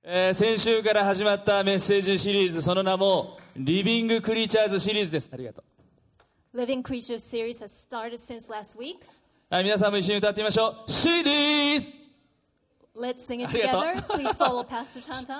先週から始まったメッセージシリーズ、その名もリビングクリーチャーズシリーズです。ありがとう。 Living Creatures series has started since last week. はい、皆さんも一緒に歌ってみましょう。シリーズ Let's sing it ありがとう。 together. Please follow Pastor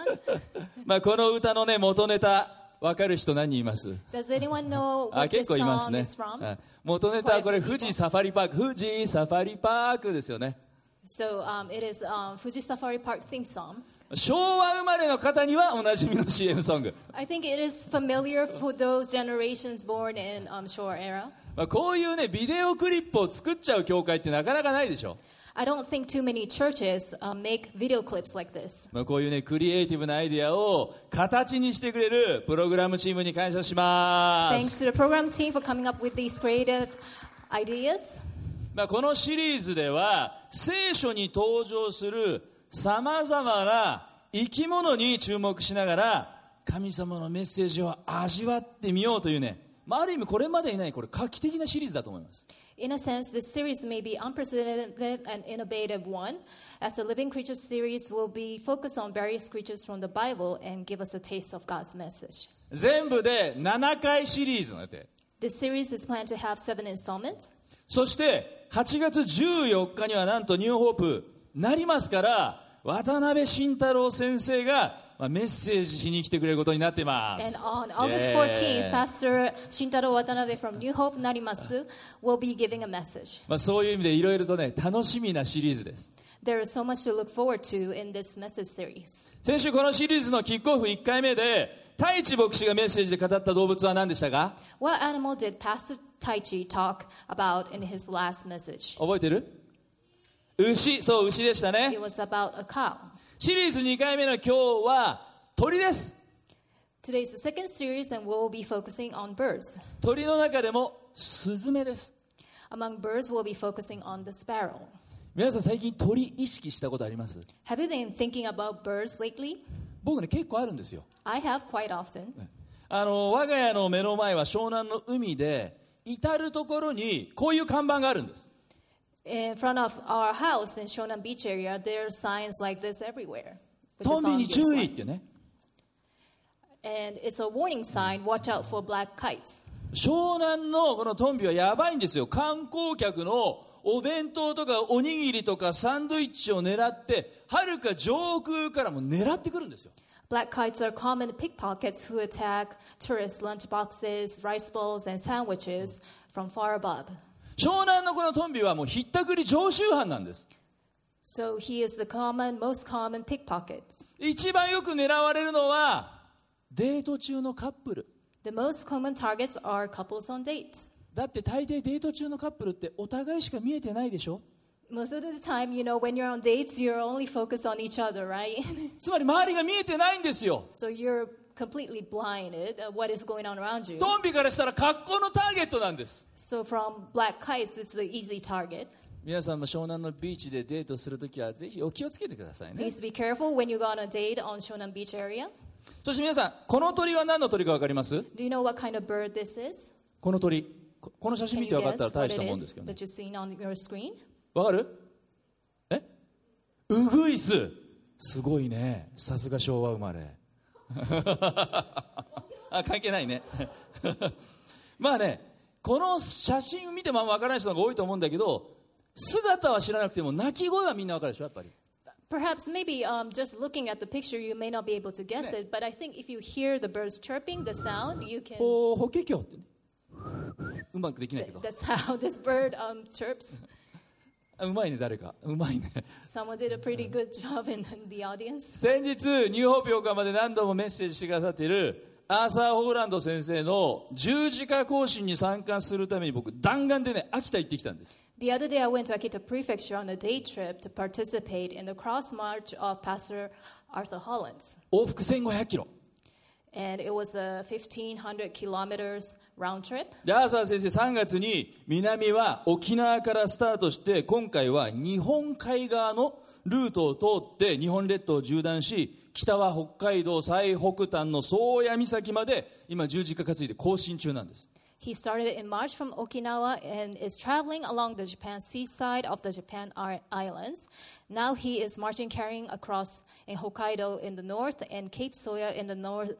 Tantan. この歌のね、元ネタ分かる人何人います？ Does anyone know あ、 what 結 this 構います song ね。 is from? はい元ネタはこれ Quite a few 富士サファリパーク、富士サファリパークですよね。 So it is Fuji Safari Park theme song. 昭和生まれの方にはおなじみの CM ソング。 I think it is familiar for those generations born in Showa era. こういうね、ビデオクリップを作っちゃう教会ってなかなかないでしょ。 I don't think too many churches make video clips like this. こういうね、クリエイティブなアイディアを形にしてくれるプログラムチームに感謝します。 Thanks to the program team for coming up with these creative ideas. このシリーズでは聖書に登場するさまざまな生き物に注目しながら神様のメッセージを味わってみようというね、ある意味これまでにないこれ画期的なシリーズだと思います。 In a sense, this series may be unprecedented and innovative one, as the Living Creatures series will be focused on various creatures from the Bible and give us a taste of God's message. 全部で7回シリーズの予定。 This series is planned to have 7 installments. そして8月14日にはなんとニューホープなりますから、渡辺慎太郎先生がメッセージしに来てくれることになっています。 And on August 14th, Pastor Shintaro Watanabe from New Hope Narimasu will be giving a message. そういう意味でいろいろとね、楽しみなシリーズです。 There is so much to look forward to in this message series. 先週このシリーズのキックオフ1回目で太一牧師がメッセージで語った動物は何でしたか？ What animal did Pastor Taichi talk about in his last message? 覚えてる？牛。そう、牛でしたね。 It was about a cow. シリーズ2回目の今日は鳥です。 Today is the second series and we'll be focusing on birds. 鳥の中でもスズメです。 Among birds, we'll be focusing on the sparrow. 皆さん最近鳥意識したことあります？ Have you been thinking about birds lately? 僕ね、結構あるんですよ。 I have quite often. 我が家の目の前は湘南の海で、至る所にこういう看板があるんです。 In front of our house in Shonan Beach area, there are signs like this everywhere. Which ト is ンビ on に your 注意っ side. てね。 And it's a warning sign, watch out for black kites. 湘南のこのトンビはやばいんですよ。観光客のお弁当とかおにぎりとかサンドイッチを狙って、はるか上空からも狙ってくるんですよ。 Black kites are common pickpockets who attack tourist lunchboxes, rice bowls, and sandwiches from far above. 湘南のこのトンビはもうひったくり常習犯なんです。 So he is the most common pickpocket. 一番よく狙われるのはデート中のカップル。 The most common targets are couples on dates. だって大抵デート中のカップルってお互いしか見えてないでしょ。 Most of the time, when you're on dates, you're only focused on each other, right? つまり周りが見えてないんですよ。 So you're completely blinded at what is going on around you. トンビからしたら格好のターゲットなんです。 So from black kites, it's the easy target. 皆さんも湘南のビーチでデートするときはぜひお気をつけてくださいね。 Please be careful when you go on a date on Shonan Beach area. そして皆さん、この鳥は何の鳥か分かります？ Do you know what kind of bird this is? この鳥、この写真 Can 見 you て分かったら guess 大 what した it もんです is けどね。 that you've seen on your screen? 分かる？ウグイス。すごいね。さすが昭和生まれ。関係ないね。この写真を見ても分からない人が多いと思うんだけど、姿は知らなくても鳴き声はみんな分かるでしょ、やっぱり。 Perhaps maybe just looking at the picture, you may not be able to guess it, but I think if you hear the birds chirping, the sound, you can. 法華経ってね。うまくできないけど。 That's how this bird chirps. うまいね、誰か。うまいね。 Someone did a pretty good job in the audience. 先日ニューホープ横浜で何度もメッセージしてくださっているアーサー・ホーランド先生の十字架行進に参加するために僕弾丸でね、秋田行ってきたんです。 The other day, I went to Akita Prefecture on a day trip to participate in the cross march of Pastor Arthur Hollins. 往復1500キロ And it was a 1,500 kilometers round trip. で、アーサー先生3月に南は沖縄からスタートして、今回は日本海側のルートを通って日本列島を縦断し、北は北海道最北端の宗谷岬まで今十字架担いで行進中なんです。 He started in March from Okinawa and is traveling along the Japan seaside of the Japan Islands. Now he is marching carrying across in Hokkaido in the north and Cape Soya in the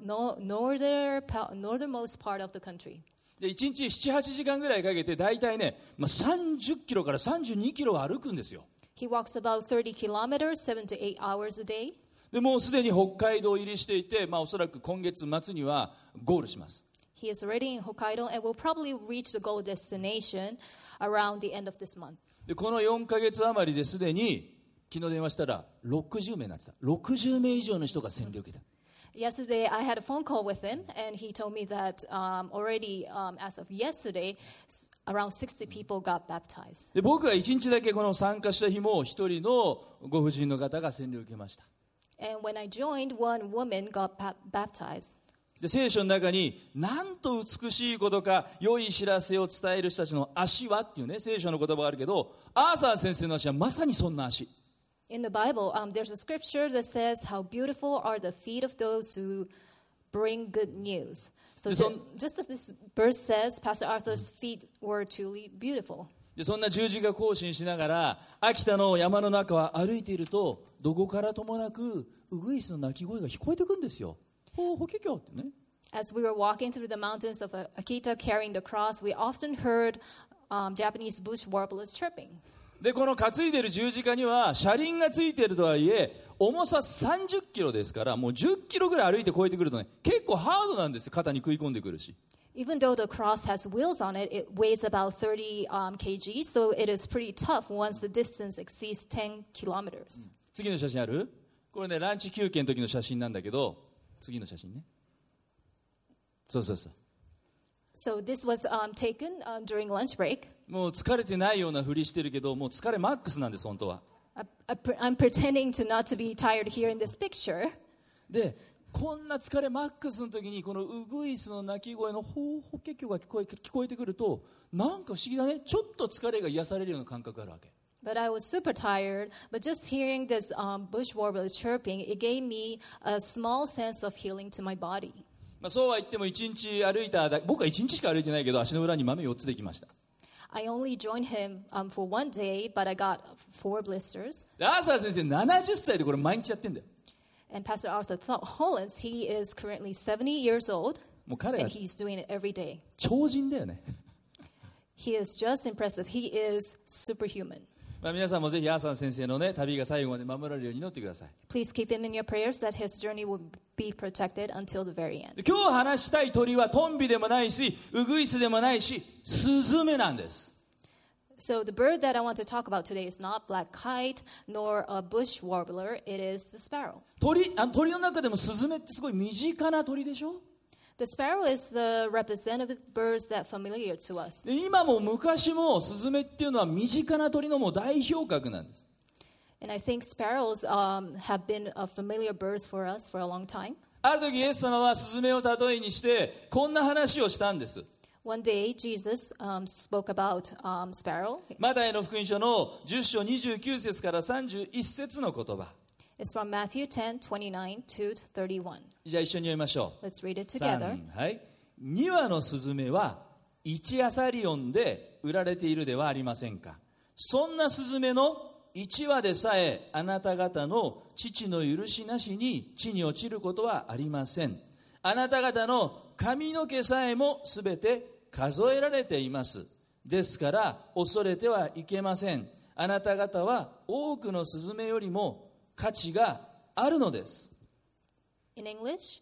northernmost part of the country. で1日 7,8 時間ぐらいかけて大体ね、30キロから32キロを歩くんですよ。 He walks about 30 kilometers, 7 to 8 hours a day. でもうすでに北海道入りしていて、おそらく今月末にはゴールします。 He is already in Hokkaido and will probably reach the goal destination around the end of this month. でこの4ヶ月余りですでに昨日電話したら60名になってた。60名以上の人が洗礼を受けた。 Yesterday, I had a phone call with him, and he told me that already, as of yesterday, around 60 people got baptized. で僕が1日だけこの参加した日も一人のご婦人の方が洗礼を受けました。 And when I joined, one woman got baptized. で聖書の中になんと美しいことか良い知らせを伝える人たちの足はっていうね聖書の言葉があるけど、アーサー先生の足はまさにそんな足。 In the Bible, there's a scripture that says, "How beautiful are the feet of those who bring good news." So just as this verse says, Pastor Arthur's feet were truly beautiful. でそんな十字架行進しながら秋田の山の中を歩いていると、どこからともなくウグイスの鳴き声が聞こえてくるんですよ。法華経ってね。 As we were walking through the mountains of Akita carrying the cross, we often heard Japanese bush warblers chirping. でこの担いでいる十字架には車輪がついているとはいえ、重さ30キロですから、もう10キロぐらい歩いて越えてくるとね、結構ハードなんですよ。肩に食い込んでくるし。 Even though the cross has wheels on it, it weighs about 30 kg, so it is pretty tough once the distance exceeds 10 kilometers. 次の写真ある？これね、ランチ休憩の時の写真なんだけど、次の写真ね。そうそうそう。 So this was taken during lunch break. もう疲れてないようなふりしてるけど、もう疲れマックスなんです、本当は。 I'm pretending to not to be tired here in this picture. で、こんな疲れマックスの時にこのウグイスの鳴き声の法華経が聞こえてくると、なんか不思議だね。ちょっと疲れが癒されるような感覚があるわけ。 But I was super tired. But just hearing this bush warbler chirping, it gave me a small sense of healing to my body. そうは言っても1日歩いた僕は1日しか歩いてないけど、足の裏に豆4つできました。 I only joined him for one day, but I got 4 blisters. アーサー先生70歳でこれ毎日やってんだよ。 And Pastor Arthur Hollins, he is currently 70 years old, もう彼は and he's doing it every day. 超人だよね。 He is just impressive. He is superhuman. 皆さんもぜひアーサー先生のね旅が最後まで守られるように祈ってください。 Please keep him in your prayers that his journey will be protected until the very end. 今日話したい鳥はトンビでもないし、ウグイスでもないし、スズメなんです。 So the bird that I want to talk about today is not black kite nor a bush warbler. It is the sparrow. 鳥の中でもスズメってすごい身近な鳥でしょ。 The sparrow is the representative birds that familiar to us. で今も昔もスズメっていうのは身近な鳥のもう代表格なんです。 And I think sparrows have been familiar birds for us for a long time. ある時イエス様はスズメを例えにしてこんな話をしたんです。 One day, Jesus spoke about sparrow. マタイの福音書の10章29節から31節の言葉。 It's from Matthew 10:29 to 31. じゃあ一緒に読みましょう。 Let's read it together. はい。2羽のスズメは1アサリオンで売られているではありませんか。そんなスズメの1羽でさえあなた方の父の許しなしに地に落ちることはありません。あなた方の髪の毛さえもすべて数えられています。ですから恐れてはいけません。あなた方は多くのスズメよりも価値があるのです。 In English,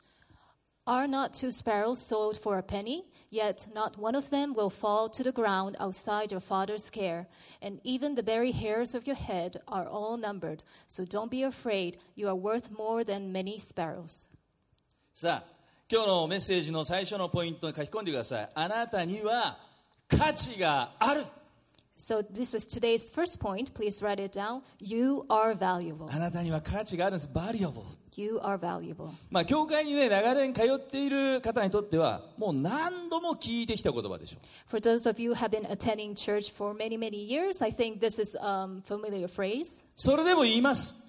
are not 2 sparrows sold for a penny? Yet not one of them will fall to the ground outside your Father's care. And even the very hairs of your head are all numbered. So don't be afraid. You are worth more than many sparrows. さあ、今日のメッセージの最初のポイントに書き込んでください。あなたには価値がある。 So this is today's first point. Please write it down. You are valuable. あなたには価値があるんです。valuable。 You are valuable. 教会にね、長年通っている方にとっては、もう何度も聞いてきた言葉でしょう。 For those of you who have been attending church for many, many years, I think this is a familiar phrase. それでも言います。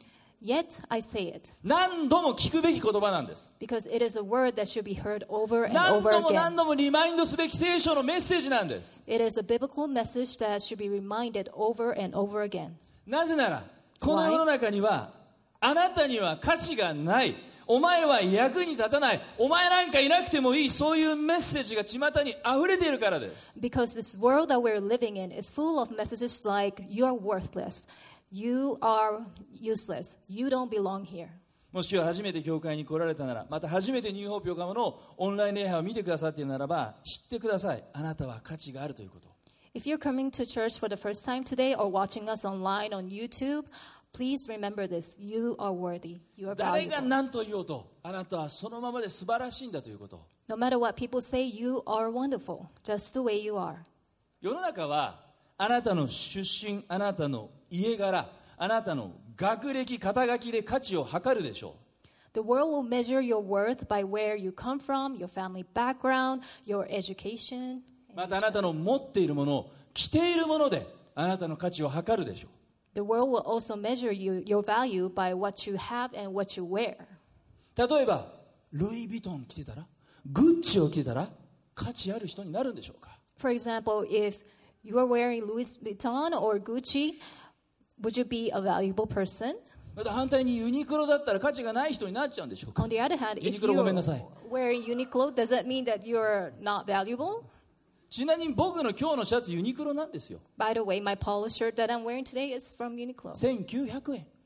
Yet I say it, 何度も聞くべき言葉なんです。 because it is a word that should be heard over and 何 over 度も again. 何度もリマインドすべき聖書のメッセージなんです。 It is a biblical message that should be reminded over and over again. なぜならこの世の中にはあなたには価値がない、お前は役に立たない、お前なんかいなくてもいい、そういうメッセージが巷に溢れているからです。 Because this world that we're living in is full of messages like, you are worthless, you are useless, you don't belong here. もし今日初めて教会に来られたなら、また初めてニューホープ横浜のオンライン礼拝を見てくださっているならば、知ってください。あなたは価値があるということ。 If you're coming to church for the first time today or watching us online on YouTube, please remember this. You are worthy. You are 誰が valuable. 何と言おうと、あなたはそのままで素晴らしいんだということ。 No matter what people say, you are wonderful, just the way you are. 世の中はあなたの出身、あなたの家柄、あなたの学歴、肩書きで価値を測るでしょう。 The world will measure your worth by where you come from, your family background, your education. またあなたの持っているもの、着ているものであなたの価値を測るでしょう。 The world will also measure your value by what you have and what you wear. 例えばルイ・ヴィトン着てたら、グッチを着てたら価値ある人になるんでしょうか。 For example, if you are wearing Louis Vuitton or Gucci, would you be a valuable person? また反対にユニクロだったら価値がない人になっちゃうんでしょうか。 On the other hand, if Uniqlo you're ごめんなさい。 wearing Uniqlo, does that mean that you're not valuable? ちなみに僕の今日のシャツユニクロなんですよ。 By the way, my polo shirt that I'm wearing today is from Uniqlo. 1900円。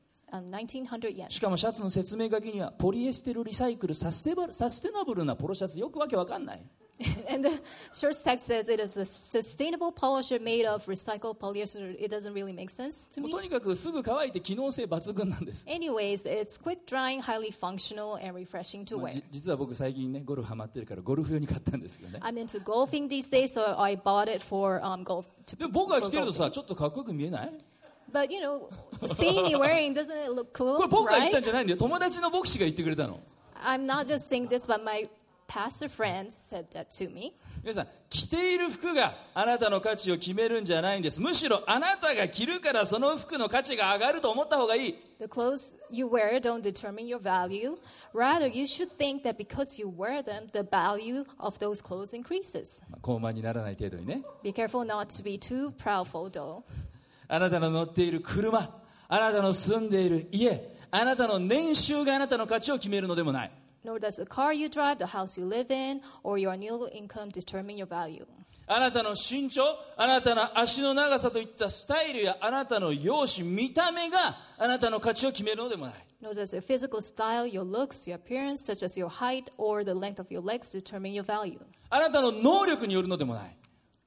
1,900 yen. しかもシャツの説明書きにはポリエステルリサイクルサステナブルなポロシャツ、よくわけわかんない。 And the short's text says it is a sustainable polo shirt made of recycled polyester. It doesn't really make sense to もう me. とにかくすぐ乾いて機能性抜群なんです。 Anyways, it's quick drying, highly functional, and refreshing to まあ wear. 実は僕最近ねゴルフハマってるからゴルフ用に買ったんですけどね。 I'm into golfing these days, so I bought it for golf. でも僕が着 for てると golfing. さちょっとかっこよく見えない？ But you know, seeing me wearing doesn't it look これ cool, 僕が言ったん right? じゃないんだよ。友達の牧師が言ってくれたの。 I'm not just saying this, but my pastor friends said that to me. 皆さん着ている服があなたの価値を決めるんじゃないんです。むしろあなたが着るからその服の価値が上がると思った方がいい。 The clothes you wear don't determine your value. Rather, you should think that because you wear them, the value of those clothes increases. 高慢にならない程度にね。 Be careful not to be too proudful, though. あなたの乗っている車、あなたの住んでいる家、あなたの年収があなたの価値を決めるのでもない。 Nor does the car you drive, the house you live in, or your annual income determine your value. あなたの身長、あなたの足の長さといったスタイルやあなたの容姿、見た目があなたの価値を決めるのでもない。 Nor does your physical style, your looks, your appearance, such as your height or the length of your legs, determine your value. あなたの能力によるのでもない。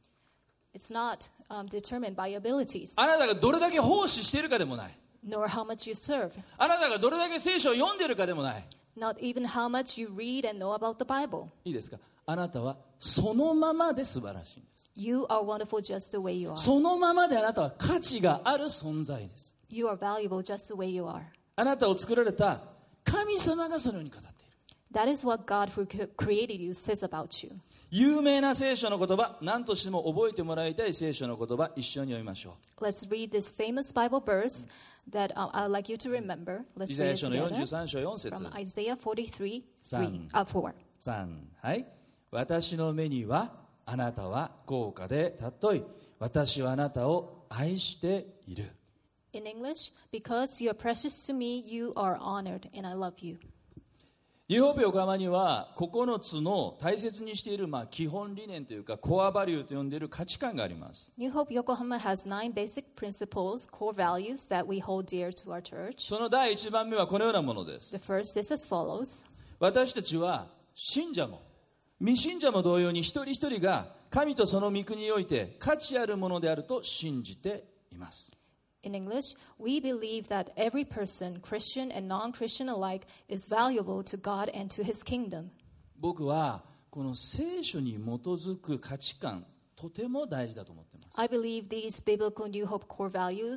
It's not determined by your abilities, あなたがどれだけ奉仕しているかでもない。 nor how much you serve, あなたがどれだけ聖書を読んでいるかでもない。 not even how much you read and know about the Bible. いいですか？あなたはそのままで素晴らしいんです。 You are wonderful just the way you are. そのままであなたは価値がある存在です。 You are valuable just the way you are. あなたを作られた神様がそのように語っている。 That is what God who created you says about you. 有名な聖書の言葉、何としても覚えてもらいたい聖書の言葉、一緒に読みましょう。 Let's read this famous Bible verse that I'd like you to remember. イ Let's ザヤ read it 書の together 43章4節 from Isaiah 43, 3. 4. 3、はい。私の目にはあなたは高価で尊い。私はあなたを愛している。 In English, because you are precious to me, you are honored, and I love you. ニューホープ横浜には9つの大切にしている基本理念というかコアバリューと呼んでいる価値観があります。 New Hope Yokohama has 9 basic principles, core values that we hold dear to our church. その第1番目はこのようなものです。 The first is as follows. 私たちは信者も未信者も同様に一人一人が神とその御国において価値あるものであると信じています。 In English, we believe that every person, Christian and non-Christian alike, is valuable to God and to His kingdom. 僕はこの聖書に基づく価値観とても大事だと思っています。 I believe these biblical New Hope core value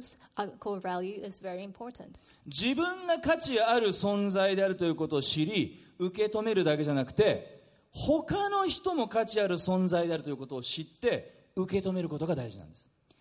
is very important. 自分が価値ある存在であるということを知り受け止めるだけじゃなくて他の人も価値ある存在であるということを知って受け止めることが大事なんです。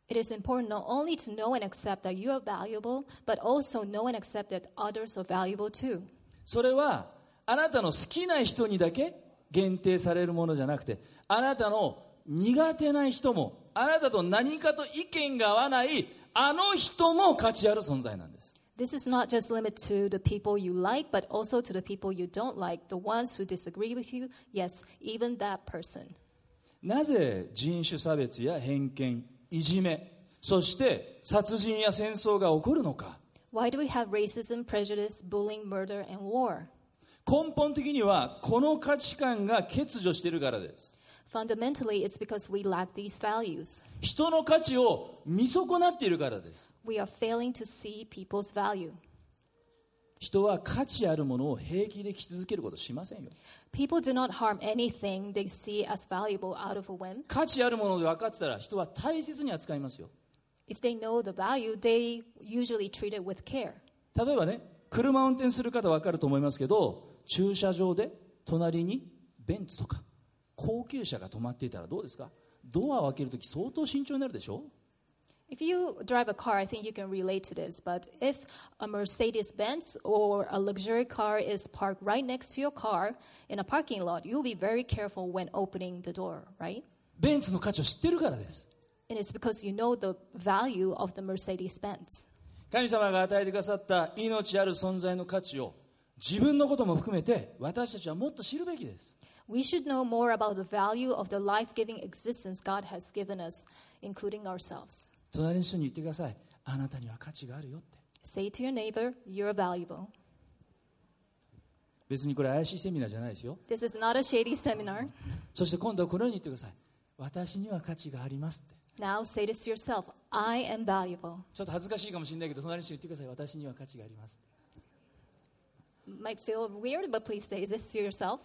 It is important not only to know and accept that you are valuable, but also know and accept that others are valuable too. それはあなたの好きな人にだけ限定されるものじゃなくて、あなたの苦手な人も、あなたと何かと意見が合わないあの人も価値ある存在なんです。 This is not just limited to the people you like, but also to the people you don't like, the ones who disagree with you, yes, even that person. なぜ人種差別や偏見、いじめ、そして殺人や戦争が起こるのか。 Why do we have racism, prejudice, bullying, murder, and war? 根本的にはこの価値観が欠如しているからです。 Fundamentally, it's because we lack these values. 人の価値を見損なっているからです。 We are failing to see people's value. 人は価値あるものを平気で着続けることしませんよ。 People do not harm anything they see as valuable out of a whim. 価値あるもので分かってたら人は大切に扱いますよ。 If they know the value, they usually treat it with care. 例えばね、車を運転する方分かると思いますけど、駐車場で隣にベンツとか高級車が止まっていたらどうですか？ドアを開けるとき相当慎重になるでしょ？ If you drive a car, I think you can relate to this. But if a Mercedes-Benz or a luxury car is parked right next to your car in a parking lot, you'll be very careful when opening the door, right? ベンツの価値を知ってるからです。 And it's because you know the value of the Mercedes-Benz. 神様が与えてくださった命ある存在の価値を自分のことも含めて私たちはもっと知るべきです。 We should know more about the value of the life-giving existence God has given us, including ourselves. 隣の人に言ってください。あなたには価値があるよって。 Say to your neighbor, you're valuable. 別にこれ怪しいセミナーじゃないですよ。 This is not a shady seminar. そして今度はこのように言ってください。私には価値がありますって。 Now say this to yourself, I am valuable. ちょっと恥ずかしいかもしれないけど隣の人に言ってください。私には価値があります。 Might feel weird, but please say this to yourself.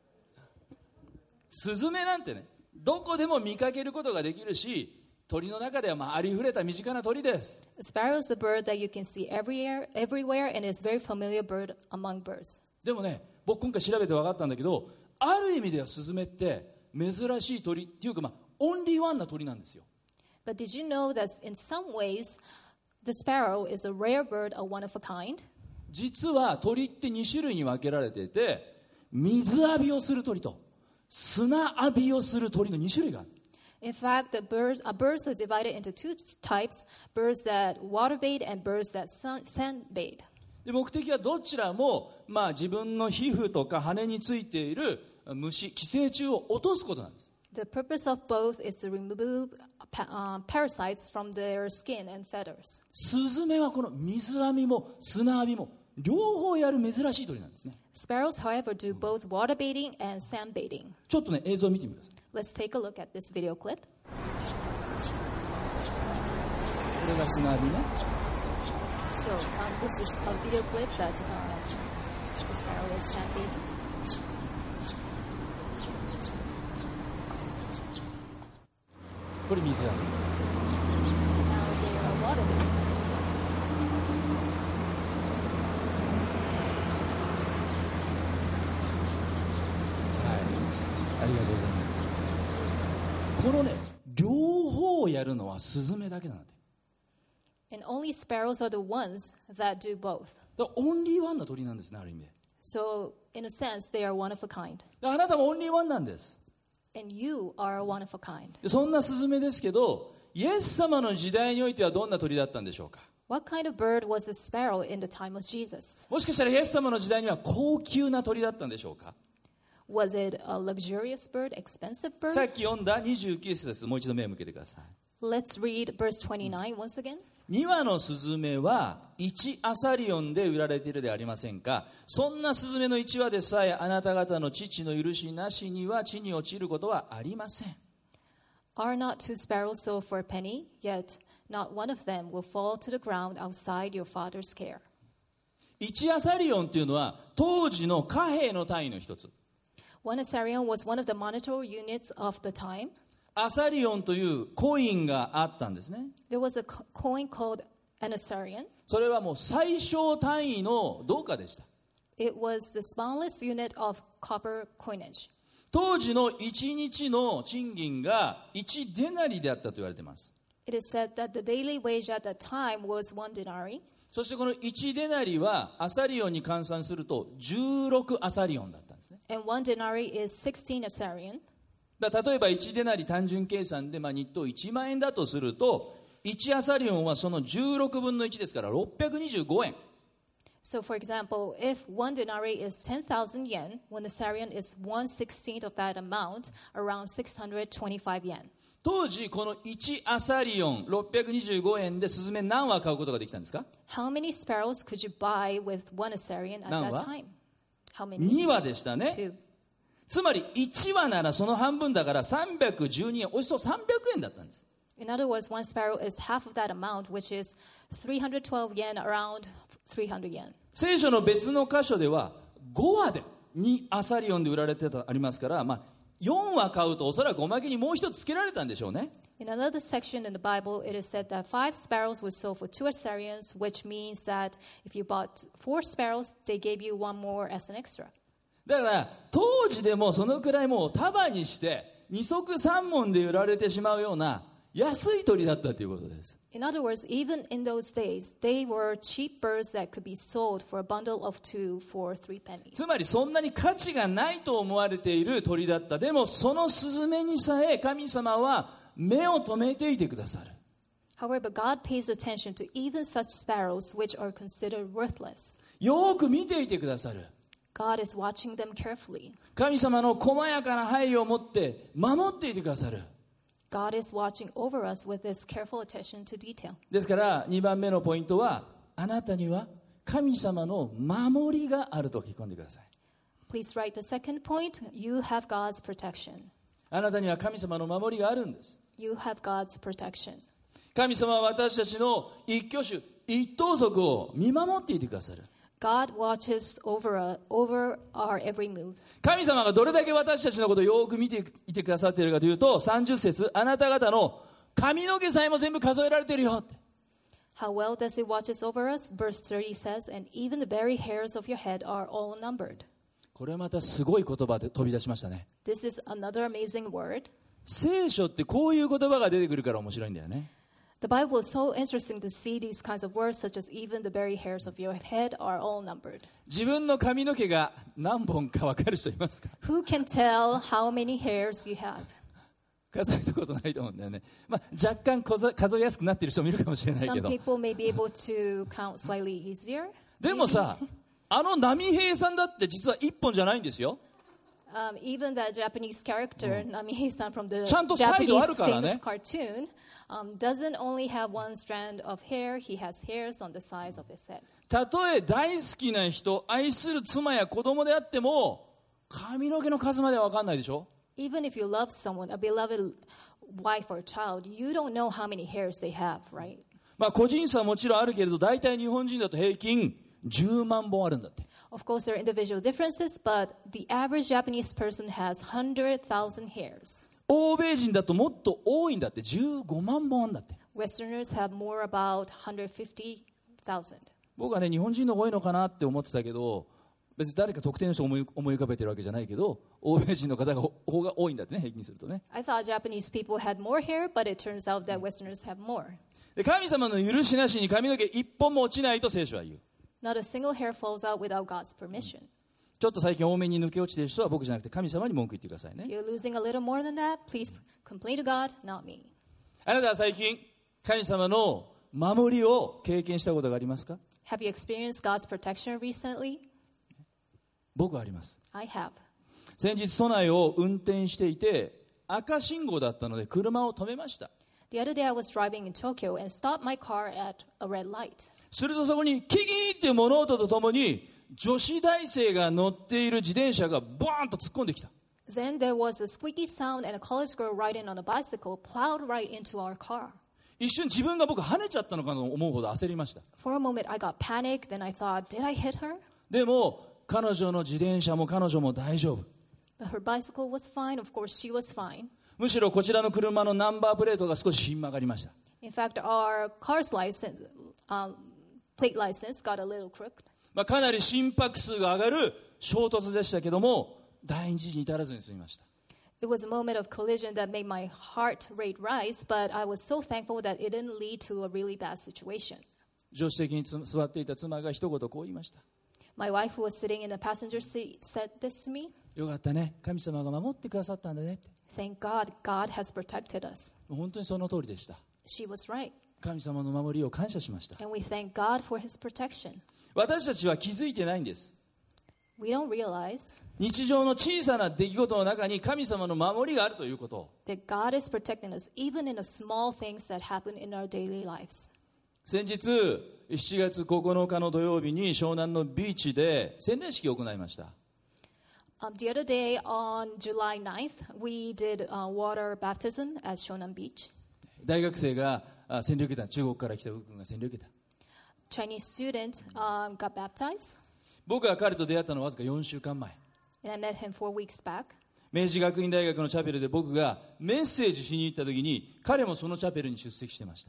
スズメなんてね、どこでも見かけることができるし、鳥の中ではありふれた身近な鳥です。 A sparrow is a bird that you can see everywhere and is a very familiar bird among birds. でもね、僕今回調べて分かったんだけど、ある意味ではスズメって珍しい鳥っていうか、オンリーワンな鳥なんですよ。 But did you know that in some ways, the sparrow is a rare bird, a one of a kind? 実は鳥って2種類に分けられていて、水浴びをする鳥と砂浴びをする鳥の2種類がある。 In fact, birds are divided into two types, birds that water bathe and birds that sand bathe. で目的はどちらも、自分の皮膚とか羽についている虫、寄生虫を落とすことなんです。 The purpose of both is to remove parasites from their skin and feathers. スズメはこの水浴びも砂浴びも両方やる珍しい鳥なんですね。 Sparrows, however, do both water bathing and sand bathing. ちょっとね、映像を見てみてください。 Let's take a look at this video clip. これが砂浴びね。 So this is a video clip that the sparrow is sand bathing. これ水浴び。 Now they are water bathing. ありがとうございます。このね、両方をやるのはスズメだけなんだって。 And only sparrows are the ones that do both. だからオンリーワンな鳥なんですね、ある意味で。 So in a sense, they are one of a kind. だからあなたもオンリーワンなんです。 And you are one of a kind. でそんなスズメですけど、イエス様の時代においてはどんな鳥だったんでしょうか。 What kind of bird was the sparrow in the time of Jesus? もしかしたらイエス様の時代には高級な鳥だったんでしょうか。 Was it a luxurious bird, expensive さ bird? っき読んだ29節です。もう一度目を向けてください。 Let's read verse 29 once again. 2羽のスズメは1アサリオンで売られているではありませんか。そんなスズメの1羽でさえあなた方の父の許しなしには地に落ちることはありません。 Are not two sparrows sold for a penny? Yet not one of them will fall to the ground outside your father's care. 1アサリオンというのは当時の貨幣の単位の一つ。 One assarion was one of the monetary units of the time. アサリオンというコインがあったんですね。 There was a coin called an assarion. それはもう最小単位の銅貨でした。 It was the smallest unit of copper coinage. 当時の1日の賃金が1デナリであったと言われています。 It is said that the daily wage at that time was 1 denarii. そしてこの1デナリはアサリオンに換算すると16アサリオンだったんですね。 And 1 denarii is 16 assarion. 例えば1デナリ単純計算で日当1万円だとすると、1アサリオンはその16分の1ですから625円。 So, for example, if 1 denarii is 10,000 yen, 1 assarion is 1/16 of that amount, around 625 yen. 当時この1アサリオン625円でスズメ何羽買うことができたんですか？ How many sparrows could you buy with 1 assarion at 何羽？ that time? How many? 2羽でしたね。 2. つまり1羽ならその半分だから312円、およそ300円だったんです。 In other words, 1 sparrow is half of that amount, which is 312 yen, around 300 yen. 聖書の別の箇所では5羽で2アサリオンで売られてたありますから、4羽買うとおそらくおまけにもう一つつけられたんでしょうね。 In another section in the Bible, it is said that 5 sparrows were sold for 2 assarions, which means that if you bought 4 sparrows, they gave you 1 more as an extra. だから当時でもそのくらいもう束にして2足3文で売られてしまうような安い鳥だったということです。 In other words, even in those days, they were cheap birds that could be sold for a bundle of 2 for 3 pennies. つまりそんなに価値がないと思われている鳥だった。でもそのスズメにさえ神様は目を留めていてくださる。 However, God pays attention to even such sparrows which are considered worthless. よく見ていてくださる。 God is watching them carefully. 神様の細やかな配慮を持って守っていてくださる。 God is watching over us with this careful attention to detail. ですから2番目のポイントは、あなたには神様の守りがあると聞き込んでください。 Please write the second point. You have God's protection. あなたには神様の守りがあるんです。 You have God's protection. 神様は私たちの一挙手一投足を見守っていてくださる。 God watches over our every move. 神様がどれだけ私たちのことをよく見ていてくださっているかというと、30節、あなた方の髪の毛さえも全部数えられているよ。 How well does it watches over us? Verse 30 says, and even the very hairs of your head are all numbered. これまたすごい言葉で飛び出しましたね。 This is another amazing word. 聖書ってこういう言葉が出てくるから面白いんだよね。 The Bible is so interesting to see these kinds of words, such as even the very hairs of your head are all numbered. 自分の髪の毛が何本か分かる人いますか？ Who can tell how many hairs you have? 数えたことないと思うんだよね。若干数えやすくなっている人もいるかもしれないけ Some ど。 people may be able to count slightly easier. でもさ、波平さんだって実は1本じゃないんですよ。 Even that Japanese character, Namihei-san from the ちゃんとサイドある Japanese からね。 famous cartoon, doesn't only have one strand of hair, he has hairs on the sides of his head. たとえ大好きな人、愛する妻や子供であっても、髪の毛の数までは分かんないでしょ。 Even if you love someone, a beloved wife or child, you don't know how many hairs they have, right? 個人差はもちろんあるけれど、大体日本人だと平均10万本あるんだって。 Of course, there are individual differences, but the average Japanese person has 100,000 hairs. 欧米人だともっと多いんだって、15万本あるんだって。 Westerners have more about 150,000. 僕はね、日本人の多いのかなって思ってたけど、別に誰か特定の人を思い浮かべてるわけじゃないけど、欧米人の方が方が多いんだってね、平均するとね。 I thought Japanese people had more hair, but it turns out that Westerners have more. で、神様の許しなしに髪の毛一本も落ちないと聖書は言う。 Not a single hair falls out without God's permission. ちょっと最近多めに抜け落ちている人は僕じゃなくて神様に文句言ってくださいね。 If you're losing a little more than that, please complain to God, not me. あなたは最近神様の守りを経験したことがありますか？ Have you experienced God's protection recently? 僕はあります。 I have. 先日都内を運転していて赤信号だったので車を止めました。 The other day I was driving in Tokyo and stopped my car at a red light. するとそこにキキーっていう物音とともに女子大生が乗っている自転車がボーンと突っ込んできた。 Then there was a squeaky sound and a college girl riding on a bicycle plowed right into our car. 一瞬自分が僕跳ねちゃったのかと思うほど焦りました。 For a moment I got panicked, then I thought, did I hit her? でも彼女の自転車も彼女も大丈夫。 But her bicycle was fine. Of course, she was fine. むしろこちらの車のナンバープレートが少しひん曲がりました。 In fact, our car's license, plate license got a little crooked. かなり心拍数が上がる衝突でしたけども第二次に至らずに済みました。 It was a moment of collision that made my heart rate rise, but I was so thankful that it didn't lead to a really bad situation. 助手席に座っていた妻が一言こう言いました。 My wife, who was sitting in the passenger seat, said this to me. よかったね、神様が守ってくださったんだねって。 Thank God, God has protected us. 本当にその通りでした。 She was right. 神様の守りを感謝しました。 And we thank God for his protection. 私たちは気づいてないんです。 We don't realize 日常の小さな出来事の中に神様の守りがあるということ。 that God is protecting us even in the small things that happen in our daily lives. 先日7月9日の土曜日に湘南のビーチで洗礼式を行いました。 The other day on July 9th, we did water baptism at Shonan Beach. 大学生が洗礼を受けた。中国から来た君が洗礼を受けた。 Chinese student got baptized, 僕が彼と出会ったのはわずか4週間前。 and I met him 4 weeks back. 明治学院大学のチャペルで僕がメッセージしに行った時に彼もそのチャペルに出席してました。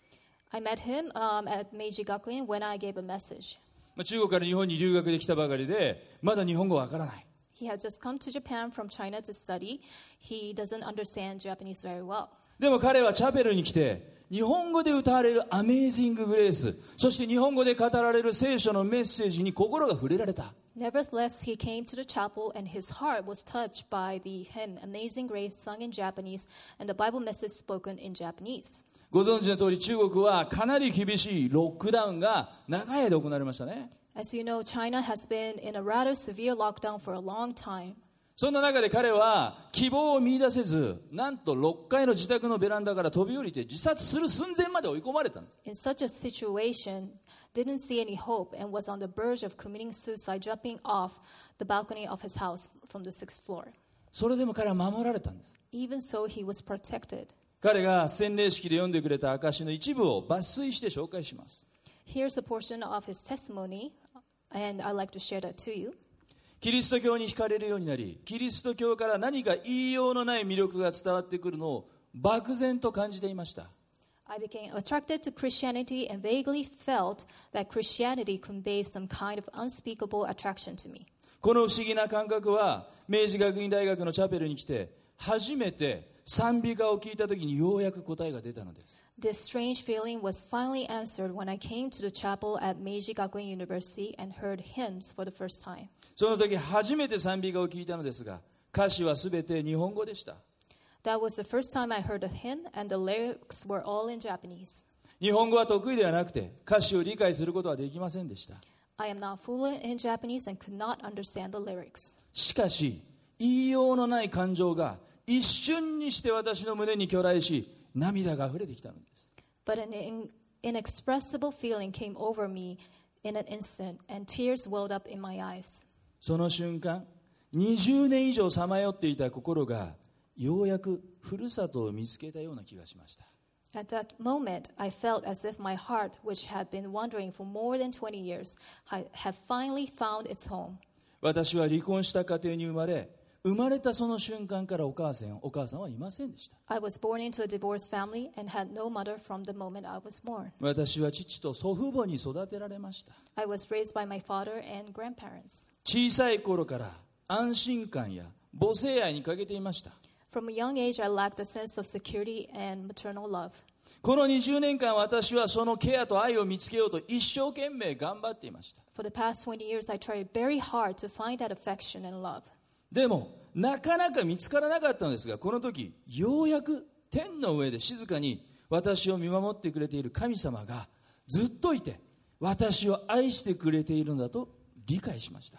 I met him at Meiji Gakuin when I gave a message. 中国から日本に留学できたばかりでまだ日本語わからない。 He had just come to Japan from China to study. He doesn't understand Japanese very well. でも彼はチャペルに来て日本語で歌われるアメージンググレース、そして日本語で語られる聖書のメッセージに心が触れられた。 Nevertheless, he came to the chapel and his heart was touched by the hymn Amazing Grace sung in Japanese and the Bible message spoken in Japanese. ご存知の通り中国はかなり厳しいロックダウンが長い間行われましたね。 As you know, China has been in a rather severe lockdown for a long time. そんな中で彼は希望を見出せず、なんと6階の自宅のベランダから飛び降りて自殺する寸前まで追い込まれたんです。 In such a situation, didn't see any hope and was on the verge of committing suicide, jumping off the balcony of his house from the 6th floor. それでも彼は守られたんです。 Even so, he was protected. 彼が洗礼式で読んでくれた証の一部を抜粋して紹介します。 Here's a portion of his testimony, and I'd like to share that to you. キリスト教に惹かれるようになり、キリスト教から何か言いようのない魅力が伝わってくるのを漠然と感じていました。 I became attracted to Christianity and vaguely felt that Christianity conveys some kind of unspeakable attraction to me. この不思議な感覚は明治学院大学のチャペルに来て初めて賛美歌を聞いた時にようやく答えが出たのです。 This strange feeling was finally answered when I came to the chapel at Meiji Gakuin University and heard hymns for the first time. その時初めて賛美歌を聞いたのですが、歌詞はすべて日本語でした。 That was the first time I heard a hymn, and the lyrics were all in Japanese. 日本語は得意ではなくて歌詞を理解することはできませんでした。 I am not fluent in Japanese and could not understand the lyrics. しかし言いようのない感情が一瞬にして私の胸に去来し、涙が溢れてきたのです。 But an inexpressible feeling came over me in an instant, and tears welled up in my eyes. その瞬間、20年以上さまよっていた心がようやくふるさとを見つけたような気がしました。 At that moment, I felt as if my heart, which had been wandering for more than 20 years, had finally found its home. 私は離婚した家庭に生まれたその瞬間からお母さんはいませんでした。 I was born into a divorced family and had no mother from the moment I was born. 私は父と祖父母に育てられました。 I was raised by my father and grandparents. 小さい頃から安心感や母性愛に欠けていました。 From a young age, I lacked a sense of security and maternal love. この20年間私はそのケアと愛を見つけようと一生懸命頑張っていました。 For the past 20 years, I tried very hard to find that affection and love. でもなかなか見つからなかったのですが、この時ようやく天の上で静かに私を見守ってくれている神様がずっといて私を愛してくれているのだと理解しました。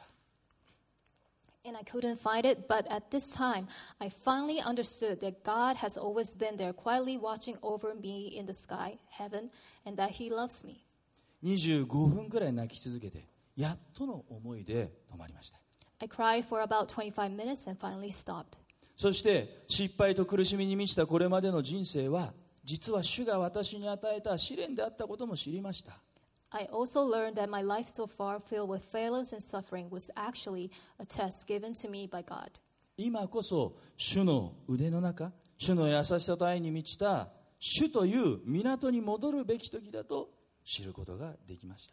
And I couldn't find it, but at this time, I finally understood that God has always been there quietly watching over me in the sky, heaven, and that He loves me. 25分くらい泣き続けてやっとの思いで止まりました。 I cried for about 25 minutes and finally stopped. そして失敗と苦しみに満ちたこれまでの人生は実は主が私に与えた試練であったことも知りました。 I also learned that my life so far filled with failures and suffering was actually a test given to me by God. 今こそ主の腕の中、主の優しさと愛に満ちた主という港に戻るべき時だと知ることができました。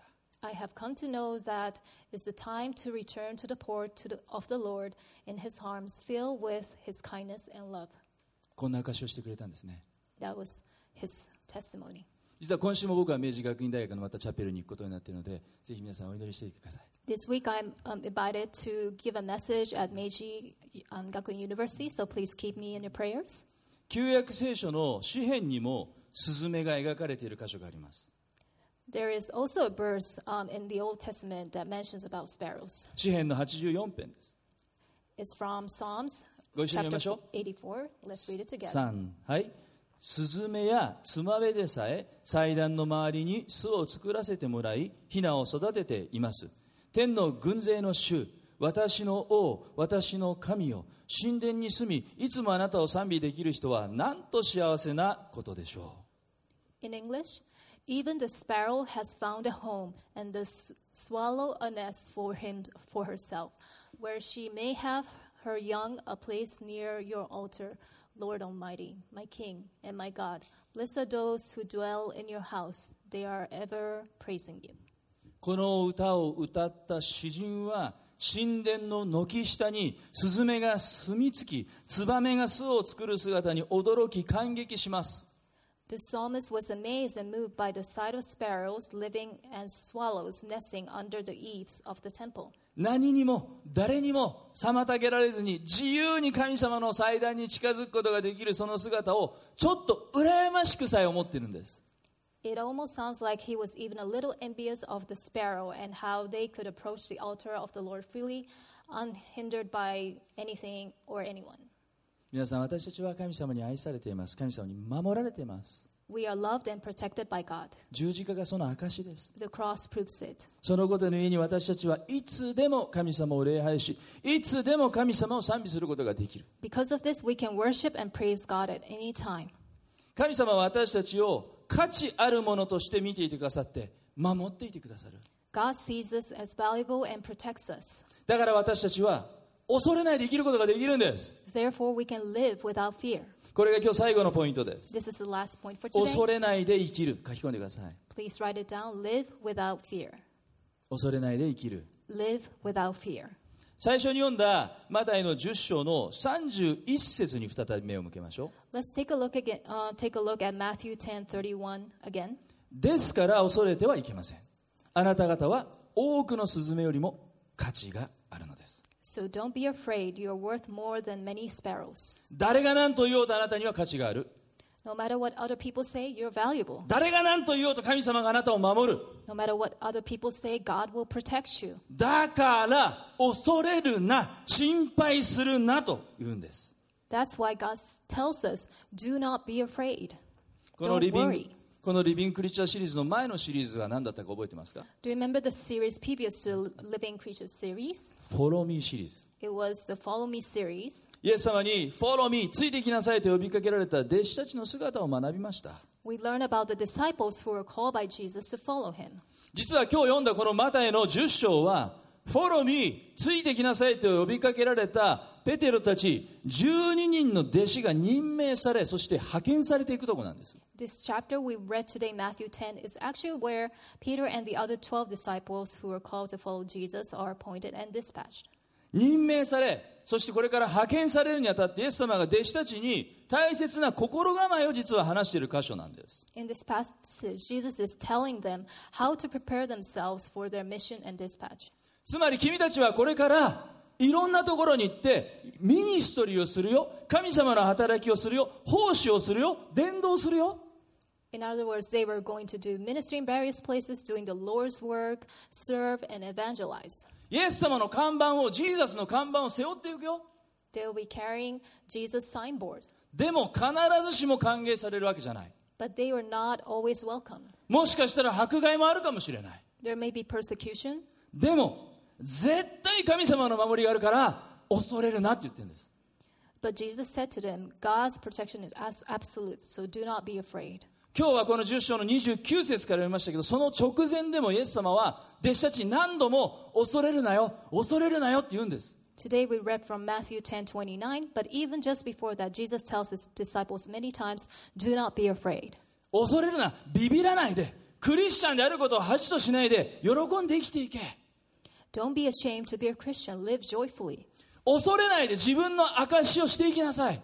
I have come to know that is the time to return to the port of the Lord in his arms, filled with his kindness and love. こんな証しをしてくれたんですね。 That was his testimony. 実は今週も僕は明治学院大学のまたチャペルに行くことになっているので、ぜひ皆さんお祈りしていてください。 This week I'm invited to give a message at Meiji Gakuin University, so please keep me in your prayers. 旧約聖書の詩編にもスズメが描かれている箇所があります。 There is also a verse in the Old Testament that mentions about sparrows. 詩編の84編です。 It's from Psalms ご一緒に読み chapter ましょう。 84. Let's read it together. 3、はい。スズメやツマベでさえ祭壇の周りに巣を作らせてもらい、ヒナを育てています。天の軍勢の主、私の王、私の神よ、神殿に住み、いつもあなたを賛美できる人はなんと幸せなことでしょう。 In English, even the sparrow has found a home, and the swallow a nest for herself, where she may have her young a place near your altar, Lord Almighty, my King and my God. Blessed are those who dwell in your house. They are ever praising you. この歌を歌った詩人は、神殿の軒下にスズメが住み着き、ツバメが巣を作る姿に驚き感激します。 The psalmist was amazed and moved by the sight of sparrows living and swallows nesting under the eaves of the temple. 何にも誰にも妨げられずに自由に神様の祭壇に近づくことができるその姿をちょっと羨ましくさえ思っているんです。 It almost sounds like he was even a little envious of the sparrow and how they could approach the altar of the Lord freely, unhindered by anything or anyone. 皆さん、私たちは神様に愛されています。神様に守られています。 We are loved and protected by God. 十字架がその証です。 The cross proves it. そのことのゆえに私たちはいつでも神様を礼拝し、いつでも神様を賛美することができる。 Because of this, we can worship and praise God at any time. 神様は私たちを価値あるものとして見ていてくださって守っていてくださる。 God sees us as valuable and protects us. だから私たちは恐れないで生きることができるんです。 Therefore, we can live without fear. これが今日最後のポイントです。 This is the last point for 恐 today. れないで生きる。書き込んでください。 Please write it down. Live without fear. 恐れないで生きる。 Live without fear. 最初に読んだマタイの10章の31節に再び目を向けましょう。 Let's take a look at Matthew 10:31 again. ですから恐れてはいけません。あなた方は多くのスズメよりも価値があるのです。 So don't be afraid. You are worth more than many sparrows. 誰が何と言おうとあなたには価値がある。 No matter what other people say, you're valuable. 誰が何と言おうと神様があなたを守る。 No matter what other people say, God will protect you. だから恐れるな、心配するなと言うんです。 That's why God tells us, do not be afraid. この Don't リビング worry. このリビングクリスチャーシリーズの前のシリーズは何だったか覚えてますか？ Do you remember the series previous to Living Creatures series? Follow Me シリーズ。 It was the Follow Me series. イエス様に Follow Me ついてきなさいと呼びかけられた弟子たちの姿を学びました。 We learn about the disciples who were called by Jesus to follow him. 実は今日読んだこのマタイの10章は Follow Me ついてきなさいと呼びかけられたペテロたち12人の弟子が任命され、そして派遣されていくところなんです。 This chapter we read today, Matthew 10, is actually where Peter and the other 12 disciples who were called to follow Jesus are appointed and dispatched. 任命され、そしてこれから派遣されるにあたってイエス様が弟子たちに大切な心構えを実は話している箇所なんです。 In this passage, Jesus is telling them how to prepare themselves for their mission and dispatch. つまり君たちはこれからいろんなところに行ってミニストリーをするよ、神様の働きをするよ、奉仕をするよ、伝道するよ。 In other words, they were going to do ministry in various places, doing the Lord's work, serve, and evangelize. イエス様の看板を、ジーザスの看板を背負っていくよ。 They will be carrying Jesus' signboard. でも必ずしも歓迎されるわけじゃない。 But they were not always welcome. もしかしたら迫害もあるかもしれない。 There may be persecution. でも絶対神様の守りがあるから恐れるなって言ってるんです。 But Jesus said to them, God's protection is absolute, so do not be afraid. 今日はこの10章の29節から読みましたけど、その直前でもイエス様は弟子たちに何度も恐れるなよ、恐れるなよって言うんです。 Today we read from Matthew 10:29, but even just before that, Jesus tells his disciples many times, do not be afraid. 恐れるな、ビビらないで、 クリスチャンであることを恥としないで喜んで生きていけ。 Don't be ashamed to be a Christian. Live joyfully. 恐れないで自分の証しをしていきなさい。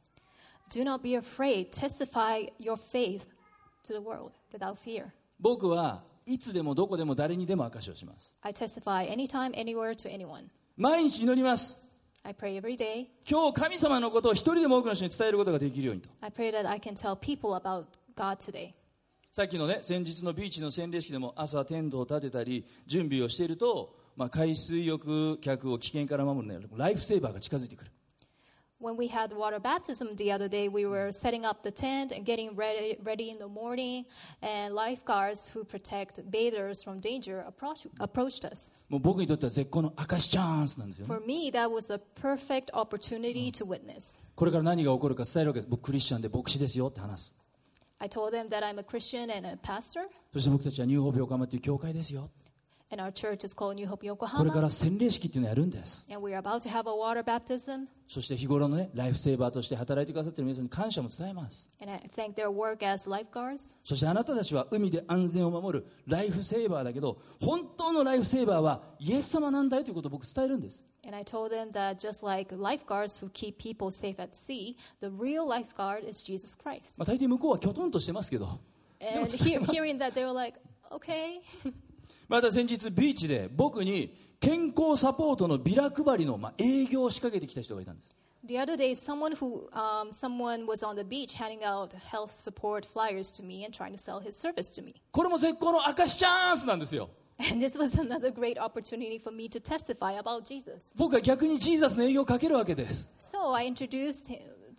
Do not be afraid. Testify your faith to the world without fear. 僕はいつでもどこでも誰にでも証しをします。 I testify anytime, anywhere to anyone. 毎日祈ります。 I pray every day. 今日神様のことを一人でも多くの人に伝えることができるようにと。 I pray that I can tell people about God today. さっきのね、先日のビーチの洗礼式でも朝テントを立てたり準備をしていると、海水浴客を危険から守る、ね、ライフセーバーが近づいてくる。 When we had water baptism the other day, we were setting up the tent and getting ready in the morning, and lifeguards who protect bathers from danger approached us. もう僕にとっては絶好の証チャンスなんですよね。 For me, that was a perfect opportunity to witness. これから何が起こるか伝えるわけです。僕クリスチャンで牧師ですよって話す。 I told them that I'm a Christian and a pastor, そして僕たちはニューホープ横浜という教会ですよ。 and our church is called New Hope これから Yokohama, 洗礼式っていうのをやるんです。 and we're about to have a water baptism. そして日頃のね、ライフセーバーとして働いてくださっている皆さんに感謝も伝えます。 And I thank their work as lifeguards. そしてあなたたちは海で安全を守るライフセーバーだけど、本当のライフセーバーはイエス様なんだよということを僕伝えるんです。 And I told them that just like lifeguards who keep people safe at sea, the real lifeguard is Jesus Christ. 大抵向こうはきょとんとしてますけど、 And hearing that, they were like, okay. また先日ビーチで僕に健康サポートのビラ配りの営業を仕掛けてきた人がいたんです。 The other day, someone was on the beach handing out health support flyers to me and trying to sell his service to me. これも絶好の証チャンスなんですよ。 And this was another great opportunity for me to testify about Jesus. 僕は逆にジーザスの営業をかけるわけです。 So I introduced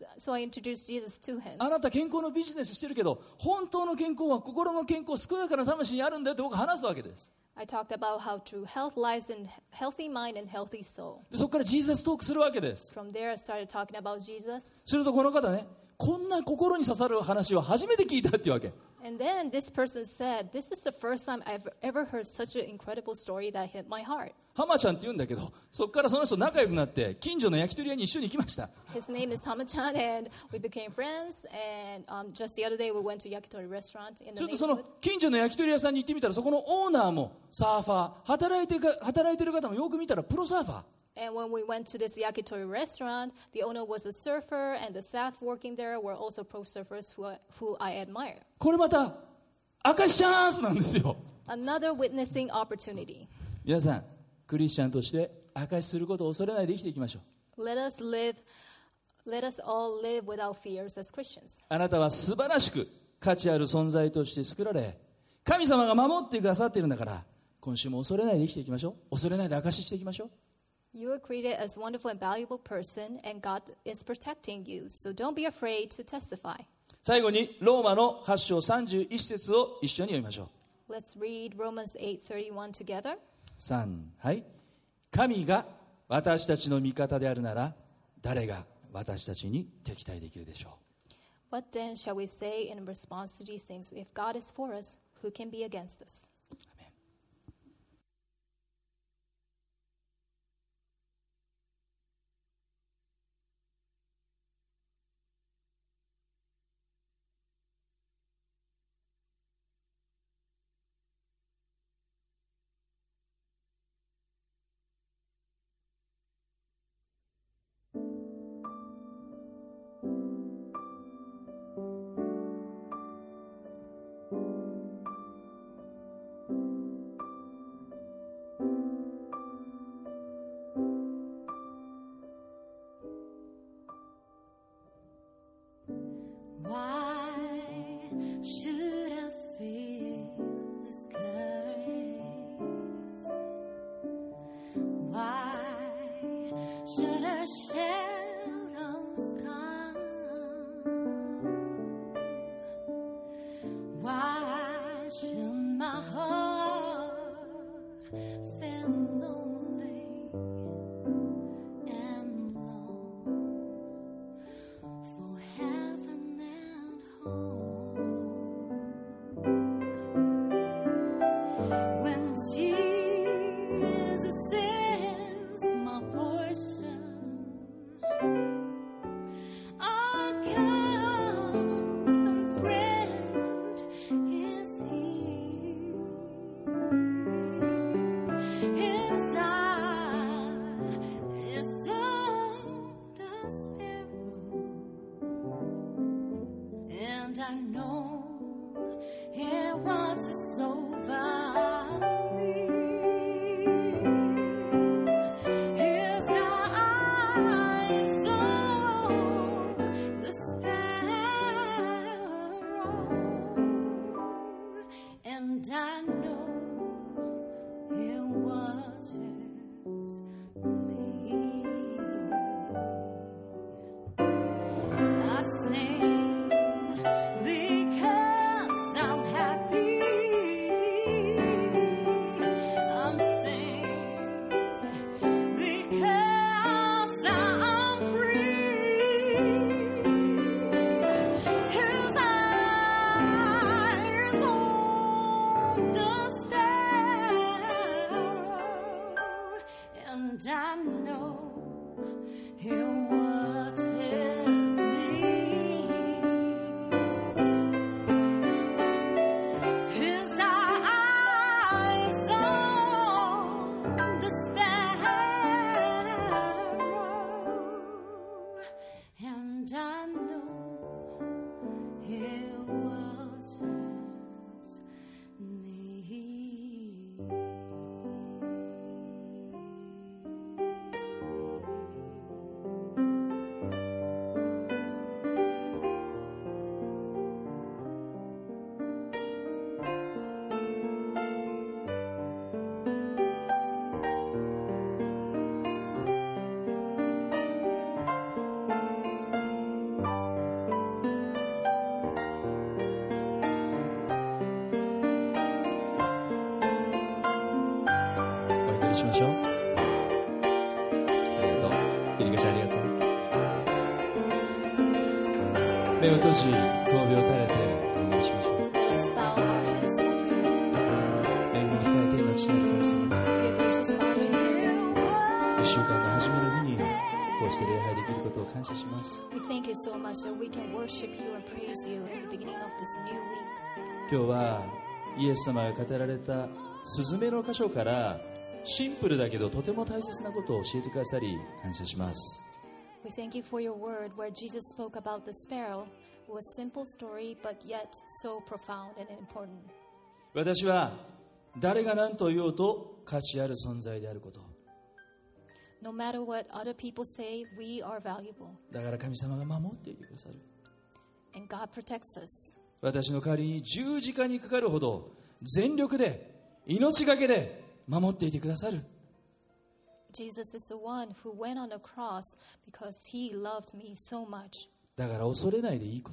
Jesus to him. あなた健康のビジネスしてるけど、本当の健康は心の健康、健やかな魂にあるんだよって僕は話すわけです。 I talked about how true health lies in healthy mind and healthy soul. でそこからジーザストークするわけです。 From there, I started talking about Jesus. するとこの方ね、こんな心に刺さる話を初めて聞いたっていうわけ。 And then this person said, this is the first time I've ever heard such an incredible story that hit my heart. 浜ちゃんって言うんだけど、そこからその人仲良くなって近所の焼き鳥屋に一緒に行きました。 His name is Tama-chan, and we became friends. And just the other day, we went to Yakitori restaurant in ち the ょっとその neighborhood. 近所の焼き鳥屋さんに行ってみたら、そこのオーナーもサーファー、働いてる方もよく見たらプロサーファー。 And when we went to this yakitori restaurant, the owner was a surfer, and the staff working there were also pro surfers who I admire. これまた証チャンスなんですよ。 Another witnessing opportunity. 皆さん、クリスチャンとして証しすることを恐れないで生きていきましょう。 Let us all live without fears as Christians. あなたは素晴らしく価値ある存在として作られ、神様が守ってくださっているんだから、今週も恐れないで生きていきましょう。恐れないで証ししていきましょう。 You were created as a wonderful and valuable person, and God is protecting you. So don't be afraid to testify. 最後にローマの8章31節を一緒に読みましょう。 Let's read Romans 8:31 together. 3、はい。神が私たちの味方であるなら、誰が私たちに敵対できるでしょう。 What then shall we say in response to these things? If God is for us, who can be against us? Why should I feel discouraged? Why should our shadows come? Why should my heart feel lonely and long for heaven and home? When Jesus is my portion, our constant friend is He. I know it watches over me. His eyes on the sparrow, and I know it watches me. I sing because I'm happy. I'm singing because I'm free. His eyes on the sparrow, and I know He watches me. His eyes on the sparrow, and I know He watches me. お祈りしましょう。ありがとう。エリカちゃんありがとう。目を閉じ、首を垂れてお祈りしましょう。 Let us bow our heads in prayer. 恵み深い天の父なる神様、 Dear gracious Father in heaven, 1週間の初めの日にこうして礼拝できることを感謝します。 we thank you so much that we can worship you and praise you in the beginning of this new week. 今日はイエス様が語られたスズメの箇所からシンプルだけどとても大切なことを教えてくださり感謝します。 We thank you for your word where Jesus spoke about the sparrow. It was a simple story, but yet so profound and important. 私は誰が何と言おうと価値ある存在であること、 No matter what other people say, we are valuable. だから神様が守っていてくださる。 And God protects us. 私の代わりに十字架にかかるほど全力で命がけで守っていてくださる。 Jesus is the one who went on the cross because he loved me so much. だから恐れないでいいこと。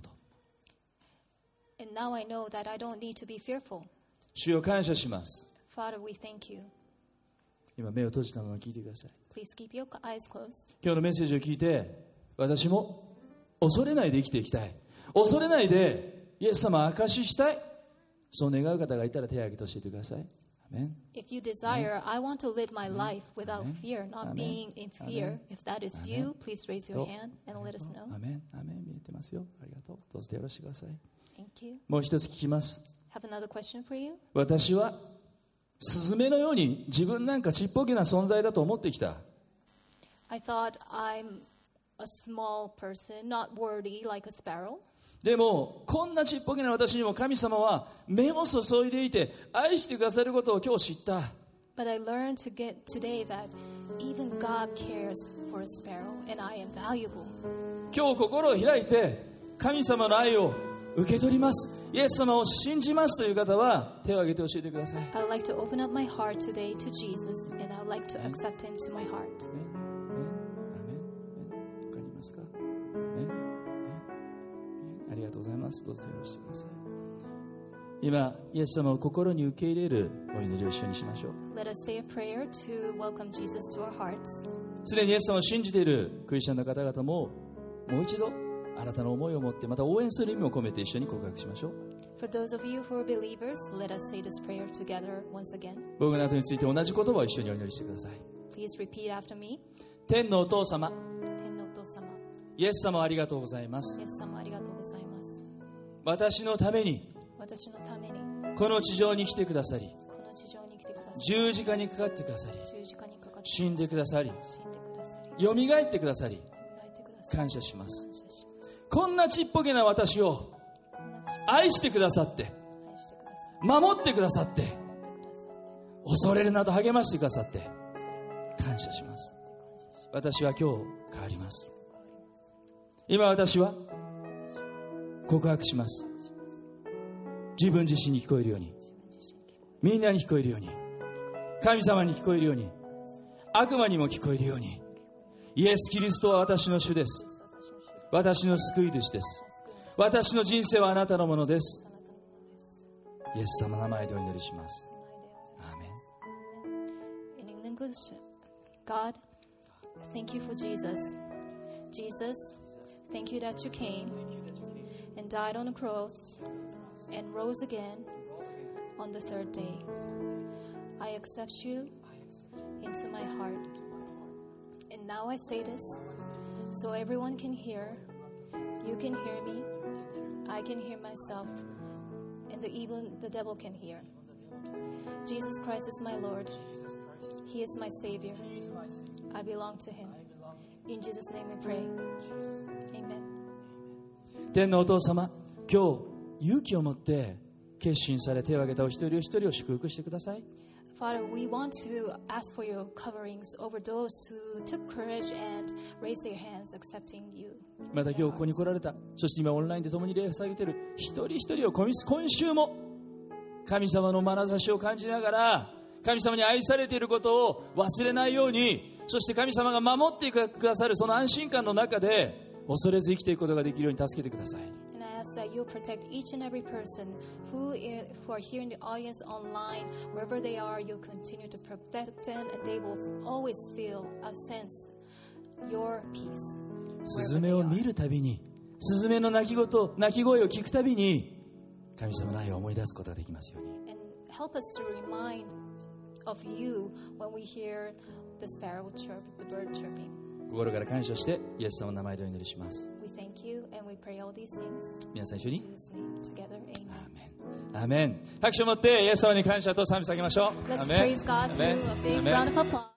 And now I know that I don't need to be fearful. 主を感謝します。 Father, we thank you. 今目を閉じたまま聞いてください。 Please keep your eyes closed. 今日のメッセージを聞いて、私も恐れないで生きていきたい、恐れないでイエス様を証ししたい、そう願う方がいたら手を挙げて教えてください。アメン。 If you desire, I want to live my life without fear, not being in fear. If that is you, please raise your hand and let us know. アメン、アメン。見えてますよ。ありがとう。どうぞ手を下ろしてください。 Thank you. もう一つ聞きます。 Have another question for you. 私はスズメのように自分なんかちっぽけな存在だと思ってきた。 I thought I'm a small person, not worthy like a sparrow. でもこんなちっぽけな私にも神様は目を注いでいて愛してくださることを今日知った。 But I learned today that even God cares for a sparrow, and I am valuable. 今日心を開いて神様の愛を受け取ります、イエス様を信じますという方は手を挙げて教えてください。 I would like to open up my heart today to Jesus, and I would like to accept him to my heart. 他にいますか？ありがとうございます。どうぞ手を押してください。今イエス様を心に受け入れるお祈りを一緒にしましょう。 Let us say a prayer to welcome Jesus to our hearts. すでにイエス様を信じているクリスチャンの方々ももう一度あなたの思いを持ってまた応援する意味を込めて一緒に告白しましょう。 For those of you who are believers, let us say this prayer together once again. 僕の後について同じ言葉を一緒にお祈りしてください。 Please repeat after me. 天のお父様、 天のお父様、 イエス様ありがとうございます。 イエス様ありがとうございます。 私のために私のためにこの地上に来てくださり、 この地上に来てくださり、 十字架にかかってくださり、 十字架にかかって死んでくださり、 死んでくださり、 よみがえってくださり、 磨いてくださり、 感謝します。 感謝します。 こんなちっぽけな私をこんなちっ愛してくださって、守ってくださって、恐れるなと励ましてくださって感謝します。私は今日変わります。今私は告白します。自分自身に聞こえるように、みんなに聞こえるように、神様に聞こえるように、悪魔にも聞こえるように、イエス・キリストは私の主です。私の救い主です。私の人生はあなたのものです。イエス様の名前でお祈りします。アーメン。 In English, God, thank you for Jesus. Jesus, thank you that you came and died on the cross and rose again on the third day. I accept you into my heart. And now I say this so everyone can hear. You can hear me. I can hear myself. And even the devil can hear. Jesus Christ is my Lord. He is my Savior. I belong to Him. In Jesus' name we pray. Amen. 天のお父様、今日勇気を持って決心され手を挙げたお一人お一人を祝福してください。 Father, we want to ask for your coverings over those who took courage and raised their hands accepting you. また今日ここに来られた、そして今オンラインで共に礼を捧げている一人一人を今週も神様の眼差しを感じながら、神様に愛されていることを忘れないように、そして神様が守ってくださるその安心感の中で恐れず生きていくことができるように助けてください。 And I ask that you protect each and every person who are here in the audience online, wherever they are, you continue to protect them and they will always feel a sense, your peace. スズメを見るたびに、スズメの鳴き声を聞くたびに神様の愛を思い出すことができますように。 And help us to remind of you when we hear the sparrow chirp, the bird chirping. 心から感謝してイエス様の名前でお祈りします。 We thank you and we pray all these things. 皆さん一緒に In Jesus' name together. Amen. アーメン。拍手を持ってイエス様に感謝と賛美を捧げましょう。 Let's アーメン。 praise God アーメン。 through a big アーメン。 round of applause.